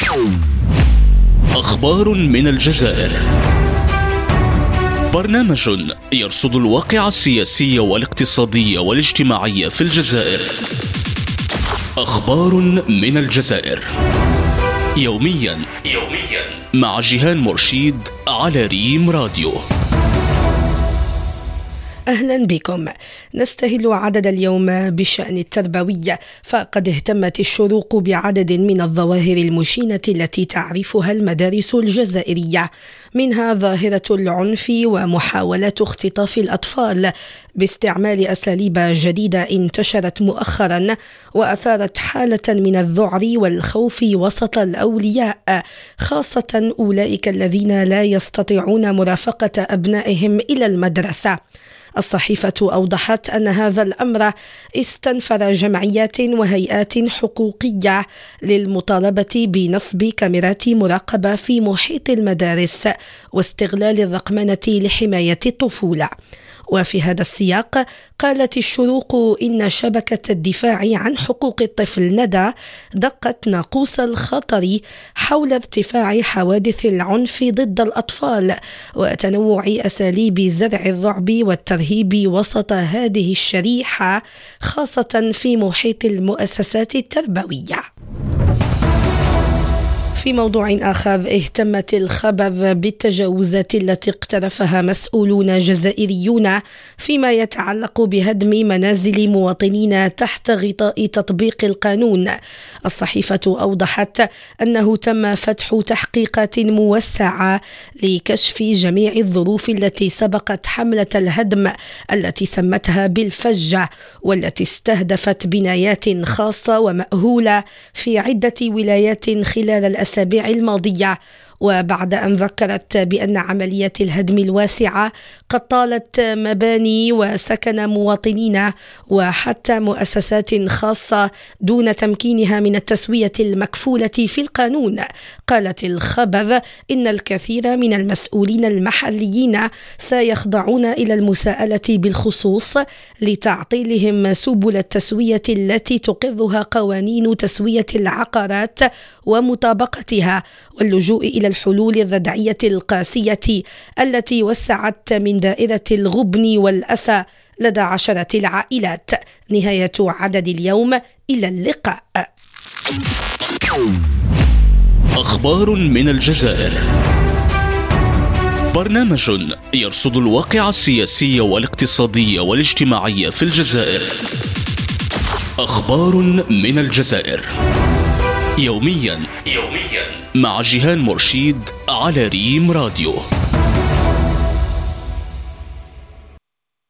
أخبار من الجزائر، برنامج يرصد الواقع السياسي والاقتصادي والاجتماعي في الجزائر. أخبار من الجزائر يوميا مع جيهان مرشيد على ريم راديو. أهلا بكم. نستهل عدد اليوم بالشأن التربوي، فقد اهتمت الشروق بعدد من الظواهر المشينة التي تعرفها المدارس الجزائرية، منها ظاهرة العنف ومحاولات اختطاف الأطفال باستعمال أساليب جديدة انتشرت مؤخرا وأثارت حالة من الذعر والخوف وسط الأولياء، خاصة أولئك الذين لا يستطيعون مرافقة أبنائهم إلى المدرسة. الصحيفة أوضحت أن هذا الأمر استنفر جمعيات وهيئات حقوقية للمطالبة بنصب كاميرات مراقبة في محيط المدارس واستغلال الرقمنة لحماية الطفولة. وفي هذا السياق قالت الشروق إن شبكة الدفاع عن حقوق الطفل ندى دقت ناقوس الخطر حول ارتفاع حوادث العنف ضد الأطفال وتنوع أساليب زرع الرعب والترهيب وسط هذه الشريحة، خاصة في محيط المؤسسات التربوية. في موضوع آخر، اهتمت الخبر بالتجاوزات التي اقترفها مسؤولون جزائريون فيما يتعلق بهدم منازل مواطنين تحت غطاء تطبيق القانون. الصحيفة أوضحت أنه تم فتح تحقيقات موسعة لكشف جميع الظروف التي سبقت حملة الهدم التي سمتها بالفجة، والتي استهدفت بنايات خاصة ومأهولة في عدة ولايات خلال الأسابيع الماضية. وبعد أن ذكرت بأن عمليات الهدم الواسعة قد طالت مباني وسكن مواطنين وحتى مؤسسات خاصة دون تمكينها من التسوية المكفولة في القانون. قالت الخبر إن الكثير من المسؤولين المحليين سيخضعون إلى المساءلة بالخصوص لتعطيلهم سبل التسوية التي تقرها قوانين تسوية العقارات ومطابقتها، واللجوء إلى الحلول الردعية القاسية التي وسعت من دائرة الغبن والأسى لدى عشرة العائلات. نهاية عدد اليوم، إلى اللقاء. أخبار من الجزائر، برنامج يرصد الواقع السياسي والاقتصادي والاجتماعي في الجزائر. أخبار من الجزائر يوميا مع جيهان مرشيد على ريم راديو.